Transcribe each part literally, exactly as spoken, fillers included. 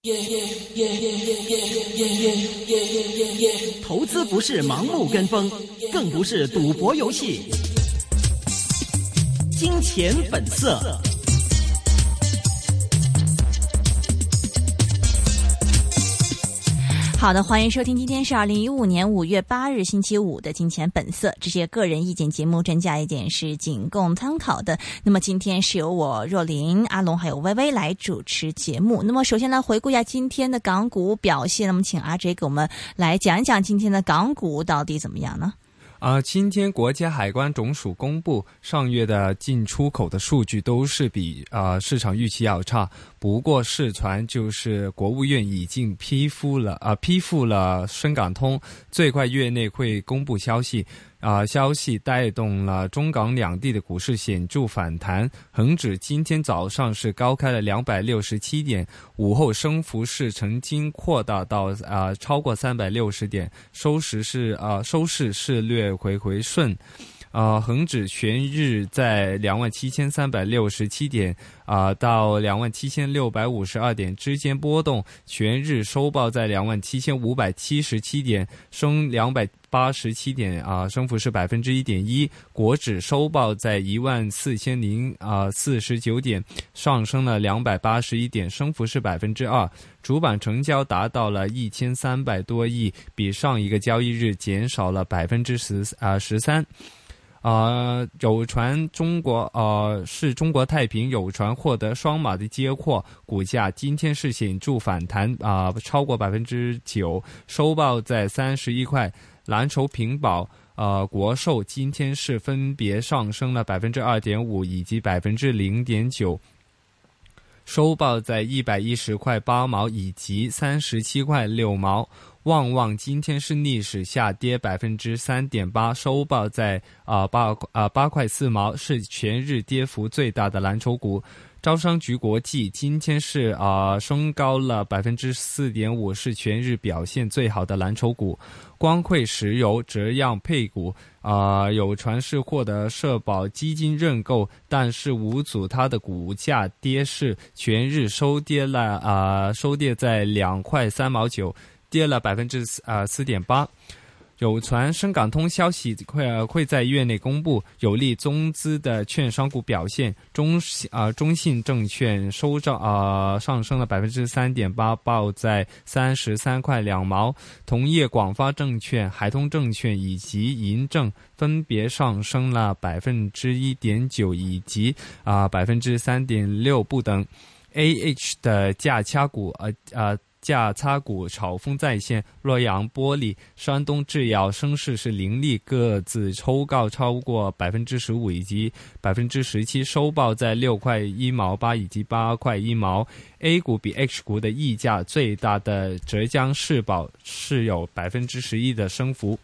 投资不是盲目跟风，更不是赌博游戏。金钱本色。 好的，欢迎收听，今天是二零一五年五月八日星期五的金钱本色，这些个人意见节目，真假意见是仅供参考的。那么今天是由我若琳、阿龙还有微微来主持节目。那么首先来回顾一下今天的港股表现，那么请阿 J 给我们来讲一讲今天的港股到底怎么样呢？ 啊、呃，今天国家海关总署公布上月的进出口的数据都是比呃市场预期要差，不过市传就是国务院已经批复了啊、呃、批复了深港通，最快月内会公布消息。啊、呃，消息带动了中港两地的股市显著反弹，恒指今天早上是高开了两百六十七点，午后升幅是曾经扩大到啊、呃、超过三百六十点，收市是啊、呃、收市是略回回顺。呃，恒指全日在两万七千三百六十七点啊、呃、到两万七千六百五十二点之间波动，全日收报在两万七千五百七十七点，升两百八十七点啊、呃，升幅是百分之一点一。国指收报在一万四千零啊四十九点，上升了两百八十一点，升幅是百分之二。主板成交达到了一千三百多亿，比上一个交易日减少了百分之十啊十三。呃，有传中国呃是中国太平有传获得双马的接货，股价今天是显著反弹啊、呃，超过百分之九，收报在三十一块。蓝筹平保、呃国寿今天是分别上升了百分之二点五以及百分之零点九。收报在一百一十块八毛以及三十七块六毛。旺旺今天是逆势下跌百分之三点八，收报在啊八啊八块四毛，是全日跌幅最大的蓝筹股。招商局国际今天是啊、呃、升高了百分之四点五，是全日表现最好的蓝筹股。光汇石油这样配股啊、呃、有传是获得社保基金认购，但是无阻它的股价跌势，全日收跌了啊、呃、收跌在两块三毛九，跌了百分之啊四点八。有传深港通消息会会在月内公布，有利中资的券商股表现。中啊、呃、中信证券收涨啊、呃、上升了百分之三点八，报在三十三块两毛。同业广发证券、海通证券以及银证分别上升了百分之一点九以及啊百分之三点六不等。A H 的价差股呃呃。价差股炒风再现，洛阳玻璃、山东制药升势是凌厉，各自抽高超过百分之十五以及百分之十七，收报在六块一毛八以及八块一毛。A 股比 H 股的溢价最大的浙江世宝是有百分之十一的升幅。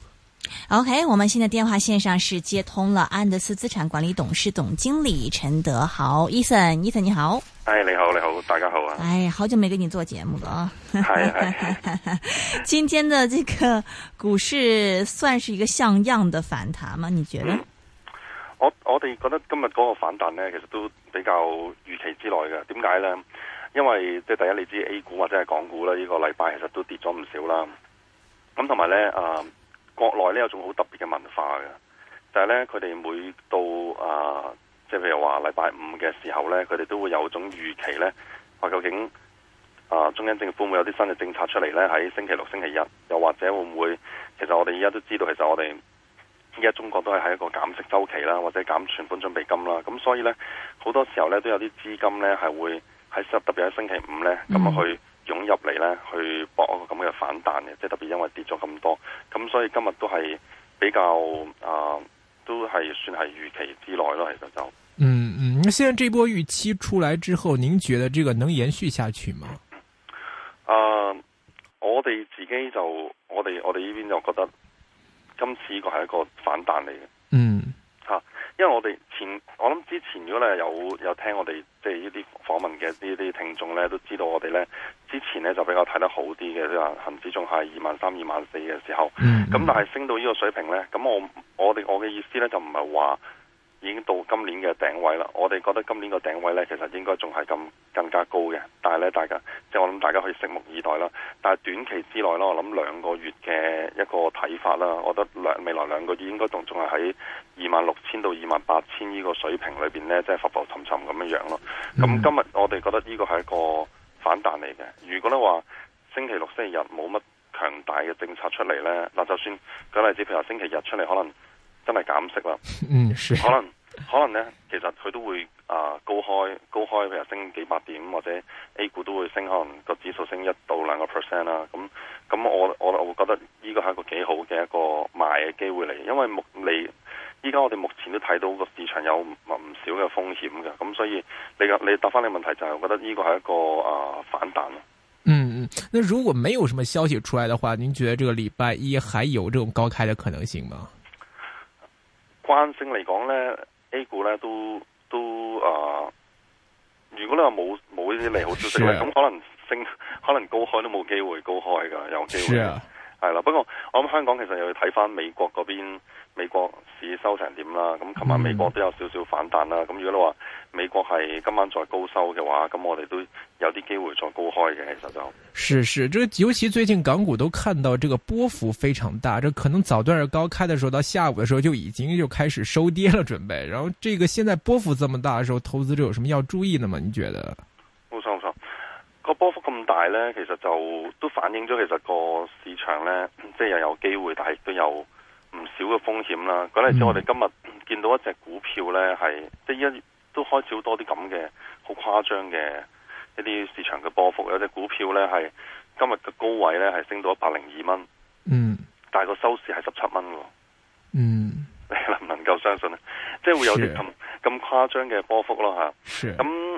OK， 我们现在电话线上是接通了安德斯资产管理董事总经理陈德豪 Ethan，Ethan 你好。 哎，你好，你好，大家好啊！ 哎，好久没跟你做节目了啊！ 係係今天的這個股市算是一個像樣的反彈嗎？你覺得？ 嗯、我我哋覺得今日嗰個反彈呢，其實都比較預期之內嘅。點解呢？因為即係第一，你知 A 股或者係港股咧，呢、這個禮拜其實都跌咗唔少啦。咁同埋呢，誒、呃，國內呢有種好特別嘅文化嘅，就係、是、呢，佢哋每到誒。呃即係譬如話禮拜五嘅時候呢，佢哋都會有種預期呢，話究竟啊、呃、中央政府會有啲新嘅政策出嚟呢，喺星期六、星期一，又或者會唔會？其實我哋而家都知道，其實我哋而家中國都係喺一個減息週期啦，或者減存款準備金啦。咁所以呢，好多時候呢都有啲資金呢係會喺特別喺星期五呢咁啊去湧入嚟呢，去搏一個咁嘅反彈嘅。即係特別因為跌咗咁多，咁所以今日都係比較啊、呃，都係算係預期之內咯。其實就。 嗯嗯，那現在這波預期出來之後，您覺得這個能延續下去嗎？ 啊、呃，我哋自己就我哋我哋呢邊就覺得今次呢個係一個反彈嚟嘅。 嗯， 吓、啊，因為我哋前我諗之前如果咧有有聽我哋即係呢啲訪問嘅呢啲聽眾咧，都知道我哋咧之前咧就比較睇得好啲嘅，即係話恒指仲係二萬三、二萬四嘅時候。嗯，咁但係升到呢個水平咧，咁我我哋我嘅意思咧就唔係話。 已經到今年嘅頂位啦。我哋覺得今年個頂位呢，其實應該仲係咁更加高嘅。但係呢，大家即係我諗大家可以拭目以待啦。但係短期之內呢，我諗兩個月嘅一個睇法啦，我覺得兩未來兩個月應該仲仲係喺二萬六千到二萬八千呢個水平裏邊呢，即係浮浮沉沉咁樣樣咯。咁、嗯、今日我哋覺得呢個係一個反彈嚟嘅。如果咧話星期六、星期日冇乜強大嘅政策出嚟呢，嗱就算舉例子，譬如話星期日出嚟可能真係減息啦， 嗯， 可能可能呢，其實佢都會啊、呃、高開高開，譬如升幾百點，或者 A 股都會升，可能個指數升一到兩個 percent 啦。咁咁我我我會覺得呢個係一個幾好嘅一個買嘅機會嚟，因為目你依家我哋目前都睇到個市場有唔唔少嘅風險嘅，咁所以你你答翻你問題就係，我覺得呢個係一個啊、呃、反彈咯。 嗯嗯，那如果沒有什麼消息出來的話，您覺得這個禮拜一還有這種高開的可能性嗎？ 慣性嚟講呢 A 股呢都都啊、呃，如果你話冇冇呢啲利好消息咧，咁、啊、可能升可能高開都冇機會高開噶，有機會係啦、啊。不過我諗香港其實又要睇翻美國嗰邊。美國市收成點啦？咁琴晚美國都有少少反彈啦。咁、嗯、如果你話美國係今晚再高收嘅話，咁我哋都有啲機會再高開嘅。其實就是是，這尤其最近港股都看到這個波幅非常大，這可能早段高開的時候，到下午的時候就已經就開始收跌了，準備。然後這個現在波幅這麼大的時候，投資者有什麼要注意的嗎？你覺得？ 冇錯冇錯，個波幅咁大呢，其實就都反映咗其實個市場呢，即係又有機會，但係都有唔少嘅風險啦。舉例子，我哋今日見到一隻股票呢，係即係一都開始好多啲咁嘅好誇張嘅一啲市場嘅波幅。有隻股票呢，係今日嘅高位呢，係升到一百零二蚊， 嗯， 但係個收市係十七蚊喎， 嗯， 你能唔能夠相信呢？即係會有啲咁咁誇張嘅波幅咯嚇。咁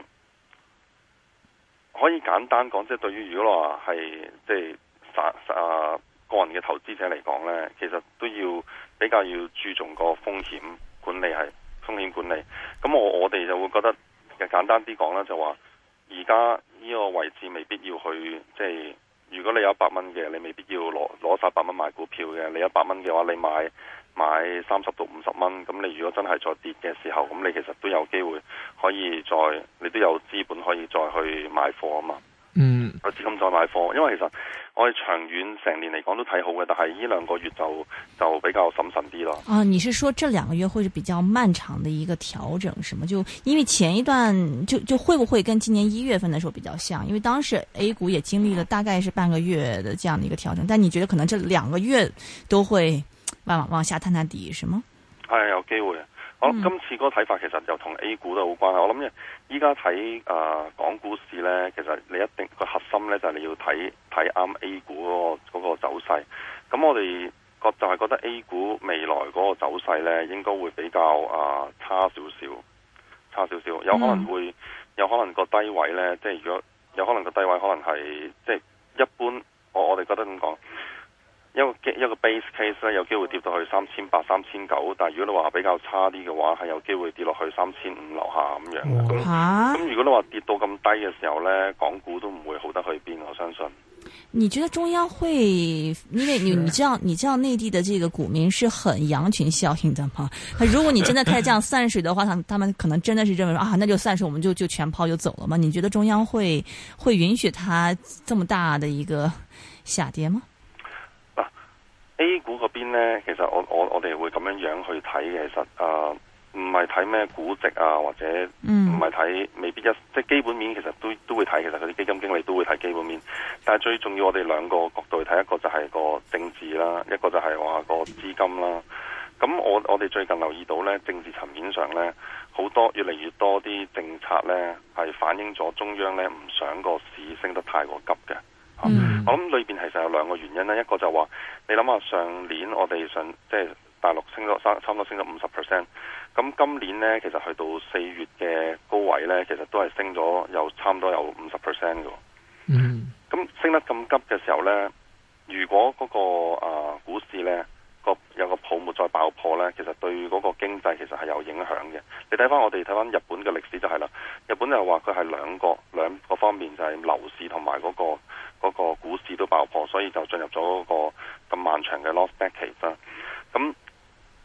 可以簡單講，即係對於如果話係即係實啊。個人嘅投資者嚟講呢，其實都要比較要注重個風險管理，係風險管理。咁我我哋就會覺得，簡單啲講啦，就話而家呢個位置未必要去，即係如果你有一百蚊嘅，你未必要攞攞晒百蚊買股票嘅。你一百蚊嘅話，你買買三十到五十蚊，咁你如果真係再跌嘅時候，咁你其實都有機會可以再，你都有資本可以再去買貨啊嘛。 嗯， 有資金再買貨，因為其實我哋長遠成年嚟講都睇好嘅，但係呢兩個月就就比較審慎啲咯。 啊，你是說這兩個月會是比較漫長的一個調整，是嗎？就因為前一段就就會不會跟今年一月份的時候比較像？因為當時 A 股也經歷了大概是半個月的這樣的一個調整，但你覺得可能這兩個月都會往往下探探底，是嗎？ 係有機會。我諗今次嗰個睇法其實又同 A 股都有關係。我諗依家睇誒港股市呢，其實你一定個核心呢，就係、是、你要睇睇啱 A 股嗰、那個嗰個走勢。咁我哋覺就係覺得 A 股未來嗰個走勢呢，應該會比較誒、呃、差少少，差少少，有可能會、嗯、有可能個低位呢，即係如果有可能個低位可能係即係一般，我我哋覺得咁講。一個一個 base case 咧，有機會跌到去三千八、三千九，但係如果你話比較差啲嘅話，係有機會跌落去三千五樓下咁樣嘅。咁咁、啊、如果你話跌到咁低嘅時候咧，港股都唔會好得去邊，我相信。 你覺得中央會，因為你你知道你知道內地的這個股民是很羊群效應的嘛？如果你真的開始這樣散水的話，他們他們可能真的是認為啊，那就散水，我們就就全拋就走了嘛？你覺得中央會會允許它這麼大的一個下跌嗎？ A 股嗰邊呢，其實我我我哋會咁樣樣去睇嘅，其實誒唔係睇咩估值啊，或者唔係睇未必一即係基本面，其實都都會睇，其實嗰啲基金經理都會睇基本面。但係最重要，我哋兩個角度去睇，一個就係個政治啦，一個就係話個資金啦。咁我我哋最近留意到呢，政治層面上呢，好多越嚟越多啲政策呢，係反映咗中央呢唔想個市升得太過急嘅。嗯、我諗裏邊其實有兩個原因啦，一個就話你諗下上年我哋上即係大陸升咗差唔多升咗五十 percent， 咁今年呢，其實去到四月嘅高位呢，其實都係升咗有差唔多有五十 percent 嘅。嗯，咁升得咁急嘅時候呢，如果嗰、那個啊、呃、股市呢個有個泡沫再爆破呢，其實對嗰個經濟其實係有影響嘅。你睇翻我哋睇翻日本嘅歷史就係啦，日本就係話佢係兩個兩個方面，就係樓市同埋嗰個。嗰個股市都爆破，所以就進入咗嗰個咁漫長嘅 lost decade 啦。咁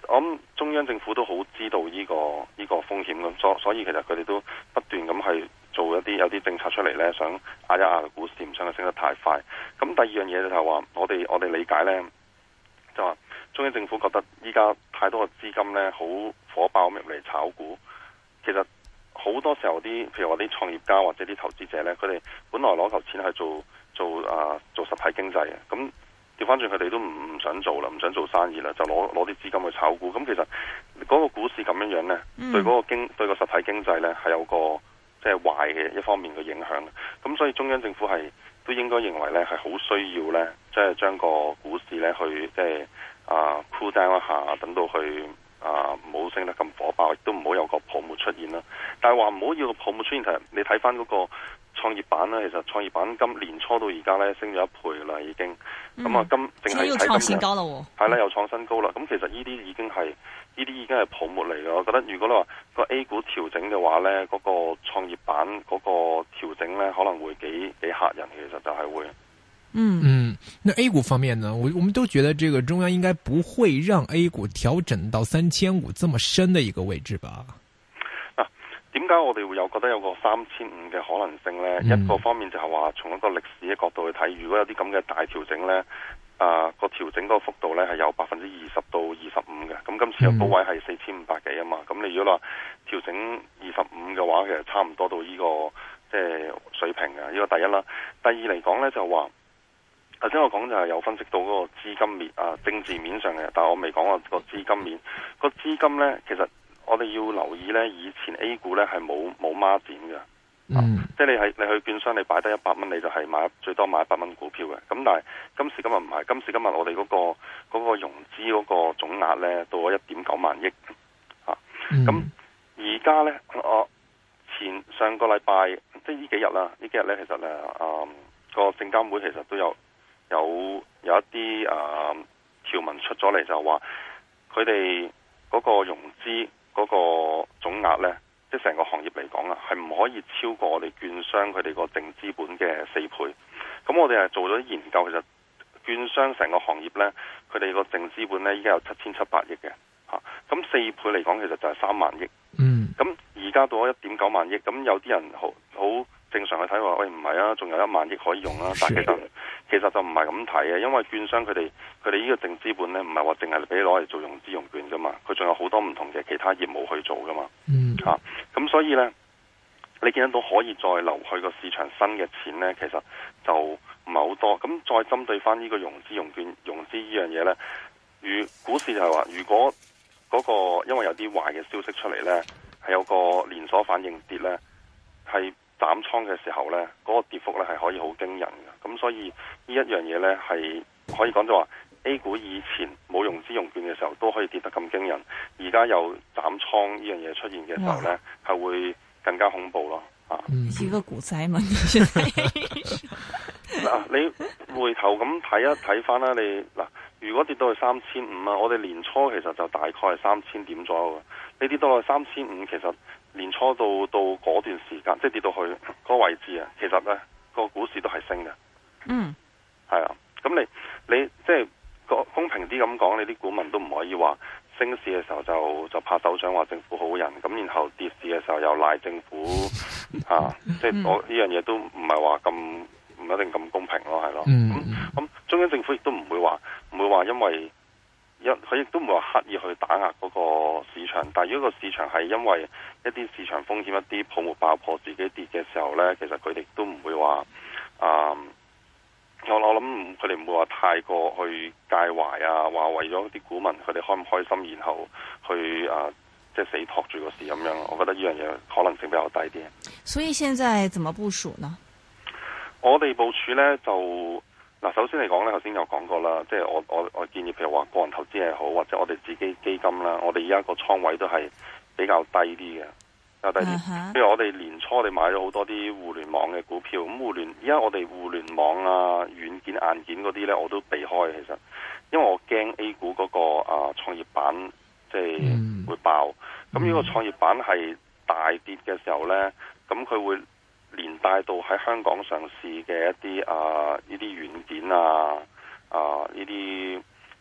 我諗中央政府都好知道呢、這個呢、這個風險咁，所所以其實佢哋都不斷咁係做一啲有啲政策出嚟呢，想壓一壓個股市，唔想佢升得太快。咁第二樣嘢就係話，我哋我哋理解呢，就話中央政府覺得依家太多嘅資金呢，好火爆咁入嚟炒股，其實好多時候啲譬如話啲創業家或者啲投資者呢，佢哋本來攞嚿錢去做做啊做實體經濟嘅，咁調翻轉佢哋都唔唔想做啦，唔想做生意啦，就攞攞啲資金去炒股。咁其實嗰個股市咁樣樣呢，嗯、對嗰個經對個實體經濟呢，係有個即係壞嘅一方面嘅影響。咁所以中央政府係都應該認為呢，係好需要呢，即係將個股市呢去即係啊 cool down 一下，等到去啊唔好升得咁火爆，亦都唔好有個泡沫出現啦。但係話唔好要個泡沫出現，其實你睇翻嗰個創業板呢，其實創業板今年初到而家呢，升咗一倍啦，已經。咁啊，今淨係睇今日係啦，又創新高啦。咁其實呢啲已經係呢啲已經係泡沫嚟嘅。我覺得如果你話個 A 股調整嘅話呢，嗰、嗰個創業板嗰個調整呢，可能會幾幾嚇人。其實就係會。 嗯嗯，那 A 股方面呢？我我們都覺得這個中央應該不會讓 A 股調整到三千五這麼深的一個位置吧？ 嗱、啊，點解我哋會有覺得有個三千五嘅可能性呢？嗯、一個方面就係話從一個歷史嘅角度去睇，如果有啲咁嘅大調整呢，啊個調整嗰個幅度呢係有百分之二十到二十五嘅。咁今次嘅高位係四千五百幾啊嘛。咁、嗯、你如果話調整二十五嘅話，其實差唔多到呢、這個即係、就是、水平嘅。呢、這個第一啦。第二嚟講呢，就話。頭先我講就係有分析到嗰個資金面啊，政治面上嘅，但係我未講過個資金面。個資金呢，其實我哋要留意呢，以前 A 股呢係冇冇孖展嘅，嗯，啊、即係你係你去券商你擺低一百蚊，你就係買最多買一百蚊股票嘅。咁但係今時今日唔係，今時今日我哋嗰、嗰個嗰個融資嗰個總額呢，到咗一點九萬億，啊，咁而家呢，我前上個禮拜即係呢幾日啦，呢幾日呢，其實呢，啊個證監會其實都有。有有一啲誒、呃、條文出咗嚟，就話佢哋嗰個融資嗰個總額呢，即係成個行業嚟講啊，係唔可以超過我哋券商佢哋個淨資本嘅四倍。咁我哋係做咗研究，其實券商成個行業呢，佢哋個淨資本呢，依家有七千七百億嘅嚇。咁四倍嚟講，其實就係三萬億。嗯。咁而家到咗一點九萬億，咁有啲人好好正常去睇話，喂唔係啊，仲有一萬億可以用啊，但係其實。其實就唔係咁睇嘅，因為券商佢哋佢哋呢個淨資本咧，唔係話淨係俾你攞嚟做融資融券噶嘛，佢仲有好多唔同嘅其他業務去做噶嘛。嗯。嚇、啊，咁所以咧，你見得到可以再流去個市場新嘅錢咧，其實就唔係好多。咁再針對翻呢個融資融券融資呢樣嘢咧，如股市就係話，如果嗰、嗰個因為有啲壞嘅消息出嚟咧，係有個連鎖反應跌咧，係。斬倉嘅時候呢，嗰、那個跌幅呢係可以好驚人嘅，咁所以呢一樣嘢呢，係可以講就話 A 股以前冇融資融券嘅時候都可以跌得咁驚人，而家有斬倉呢樣嘢出現嘅時候呢，係哇會更加恐怖咯。啊， 一個股災嘛？ 嗱，你回頭咁睇一睇翻啦，你嗱，如果跌到去三千五啊，我哋年初其實就大概係三千點左右嘅，你跌到去三千五，其實。年初到到嗰段時間，即係跌到去嗰個位置啊，其實呢個股市都係升嘅。嗯，係啊。咁你你即係公平啲咁講，你啲股民都唔可以話升市嘅時候就就拍手掌話政府好人，咁然後跌市嘅時候又賴政府啊。即係我呢樣嘢都唔係話咁唔一定咁公平咯，係咯。咁咁中央政府亦都唔會話唔會話因為。一佢亦都唔會話刻意去打壓嗰個市場，但係如果個市場係因為一啲市場風險、一啲泡沫爆破自己跌嘅時候呢，其實佢哋都唔會話啊、嗯，我我諗佢哋唔會話太過去介懷啊，話為咗啲股民佢哋開唔開心，然後去啊即係死托住個市咁樣。我覺得呢樣嘢可能性比較低啲。 所以現在怎麼部署呢？ 我哋部署呢就。嗱，首先嚟講咧，頭先有講過啦，即係我我我建議，譬如話個人投資係好，或者我哋自己基金啦，我哋而家個倉位都係比較低啲嘅，比較低啲。譬、uh huh. 如我哋年初我哋買咗好多啲互聯網嘅股票，咁互聯而家我哋互聯網啊、軟件、硬件嗰啲咧，我都避開其實，因為我驚 A 股嗰、那個啊創業板即係會爆。咁、mm. 如果創業板係大跌嘅時候咧，咁佢會。連帶到喺香港上市嘅一啲啊呢啲軟件啊啊呢啲呢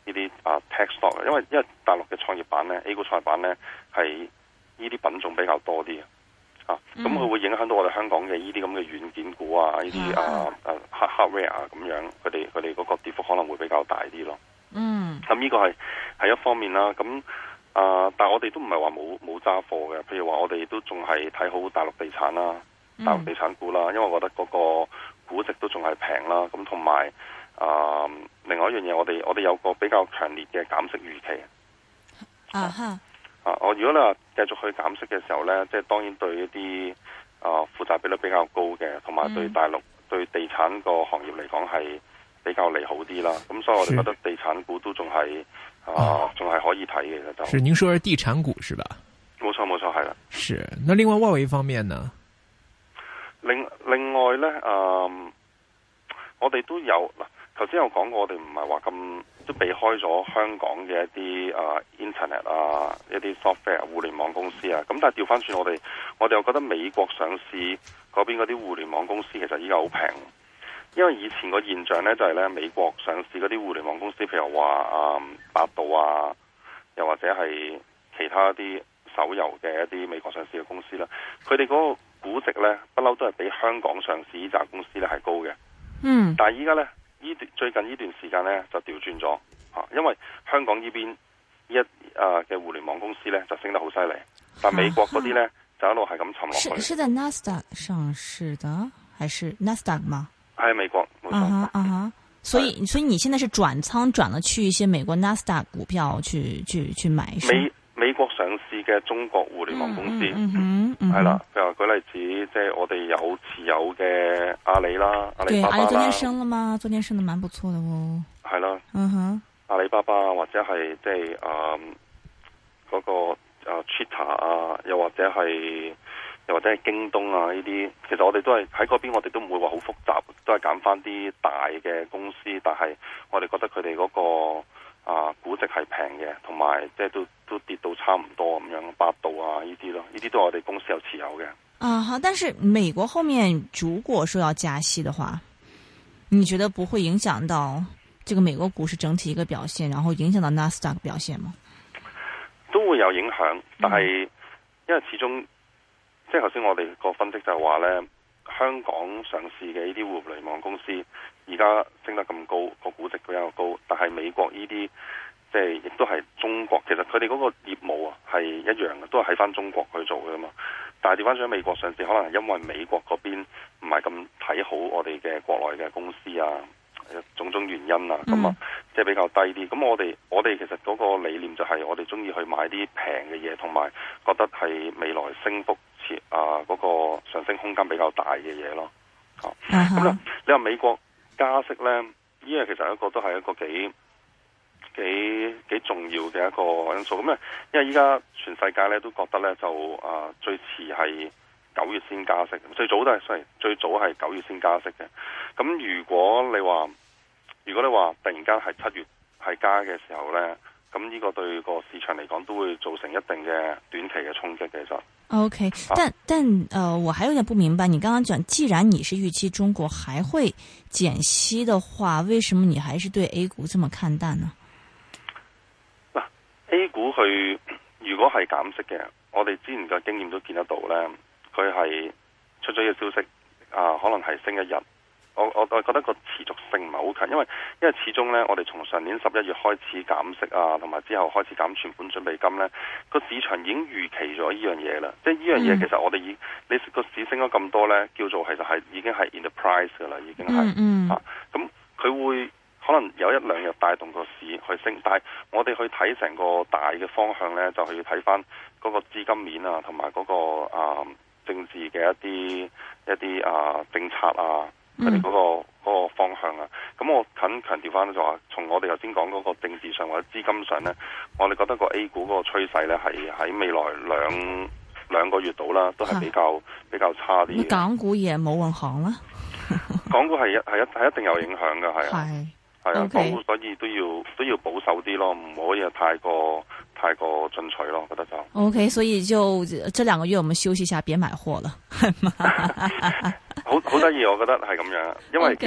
呢啲啊 tech stock，因為因為大陸嘅創業板咧 A 股創業板咧係呢啲品種比較多啲啊，咁佢、嗯、會影響到我哋香港嘅呢啲咁嘅軟件股啊，呢啲啊啊 hardware 啊咁樣，佢哋佢哋嗰個跌幅可能會比較大啲咯。嗯，咁呢個係係一方面啦，咁。啊！但係我哋都唔係話冇冇揸貨嘅，譬如話我哋都仲係睇好大陸地產啦，大陸地產股啦，因為我覺得嗰個估值都仲係平啦。咁同埋啊，另外一樣嘢，我哋我哋有個比較強烈嘅減息預期。啊哈！啊，我如果你話繼續去減息嘅時候呢，即係當然對一啲啊負債比率比較高嘅，同埋對大陸、嗯、對地產個行業嚟講係比較利好啲啦。咁所以我哋覺得地產股都仲係。啊，仲係可以睇嘅就。 是您說是地產股是吧？ 冇錯冇錯，係啦。 是，那另外外圍方面呢？ 另另外咧，誒、嗯，我哋都有嗱，頭先有講過，我哋唔係話咁都避開咗香港嘅一啲啊 internet 啊，一啲 software 互聯網公司啊。咁但係調翻轉，我哋我哋又覺得美國上市嗰邊嗰啲互聯網公司其實依家好平。因為以前個現象咧就係、是、咧美國上市嗰啲互聯網公司，譬如話啊百度啊，又或者係其他啲手遊嘅一啲美國上市嘅公司啦，佢哋嗰個估值咧不嬲都係比香港上市呢扎公司咧係高嘅。嗯。但係依家咧呢段最近呢段時間咧就調轉咗吓，因為香港呢邊一啊嘅互聯網公司咧就升得好犀利，但美國嗰啲咧就一路係咁沉落去。 是是在 Nasdaq 上市的，還是 Nasdaq 嗎？ 喺美國，冇錯。啊哈啊哈， 所以所以你現在是轉倉轉了去一些美國 Nasdaq 股票去去去買， 美美國上市嘅中國互聯網公司，係啦，譬如話舉例子，即係我哋有持有嘅阿里啦，阿里巴巴啦。 對，阿里昨天升了嗎？昨天升得蠻不錯的哦。 係啦， 嗯哼， 阿里巴巴或者係即係誒嗰個誒 Twitter 啊，又或者係。又或者係京東啊呢啲，其實我哋都係喺嗰邊，我哋都唔會話好複雜，都係揀翻啲大嘅公司，但係我哋覺得佢哋嗰個啊估值係平嘅，同埋即係都都跌到差唔多咁樣，百度啊呢啲咯，呢啲都係我哋公司有持有嘅。 啊好，但是美國後面如果說要加息的話，你覺得不會影響到這個美國股市整體一個表現，然後影響到納斯達克表現嗎？ 都會有影響，但係、嗯、因為始終。即係頭先我哋個分析就係話呢，香港上市嘅呢啲互聯網公司而家升得咁高，個估值比較高，但係美國呢啲即係亦都係中國，其實佢哋嗰個業務啊係一樣嘅，都係喺翻中國去做嘅嘛。但係調翻轉喺美國上市，可能係因為美國嗰邊唔係咁睇好我哋嘅國內嘅公司啊，種種原因啊，咁啊即係比較低啲。咁我哋我哋其實嗰個理念就係我哋中意去買啲平嘅嘢，同埋覺得係未來升幅。啊，嗰、那個上升空間比較大嘅嘢咯，咁、uh-huh. 咧、嗯，你話美國加息咧，呢個其實一個都係一個幾幾幾重要嘅一個因素。咁咧，因為依家全世界咧都覺得咧就啊最遲係九月先加息，最早都係雖然最早係九月先加息嘅。咁如果你話如果你話突然間係七月係加嘅時候咧，咁呢個對個市場嚟講都會造成一定嘅短期嘅衝擊嘅。其實 OK，但但呃，我還有點不明白，你剛剛講，既然你是預期中國還會減息的話，為什麼你還是對 A 股這麼看淡呢？ 嗱，A 股佢如果係減息嘅，我哋之前嘅經驗都見得到咧，佢係出咗一個消息啊，可能係升一日。我我我覺得個持續性唔係好強，因為因為始終咧，我哋從上年十一月開始減息啊，同埋之後開始減存款準備金咧，個市場已經預期咗呢樣嘢啦。即係呢樣嘢其實我哋已你個市升咗咁多咧，叫做其實係已經係 in the price 噶啦，已經係、嗯嗯、啊。咁佢會可能有一兩日帶動個市去升，但係我哋去睇成個大嘅方向咧，就係要睇翻嗰個資金面啊，同埋嗰個啊政治嘅一啲一啲啊政策啊。佢哋嗰個嗰、嗰個方向啊，咁我肯強調翻就話，從我哋頭先講嗰個政治上或者資金上咧，我哋覺得個 A 股嗰個趨勢咧係喺未來兩兩個月度啦，都係比較、啊、比較差啲。 港股也冇運行啦， 港股係一係一係一定有影響嘅，係啊，係啊， okay. 港股所以都要都要保守啲咯，唔可以太過太過進取咯，我覺得就 OK， 所以就這兩個月我們休息一下，別買貨了，係嘛？ 好好得意，我覺得係咁樣，因為其實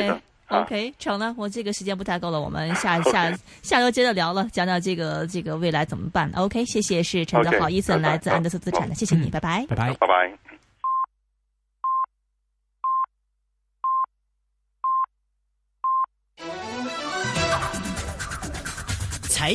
OK， 成了，我这个时间不太够了，我们下下下周接着聊了，讲讲这个这个未来怎么办。OK， 谢谢，是陈德豪伊森，来自安德斯资产的，谢谢你，拜拜， 拜拜， 拜拜。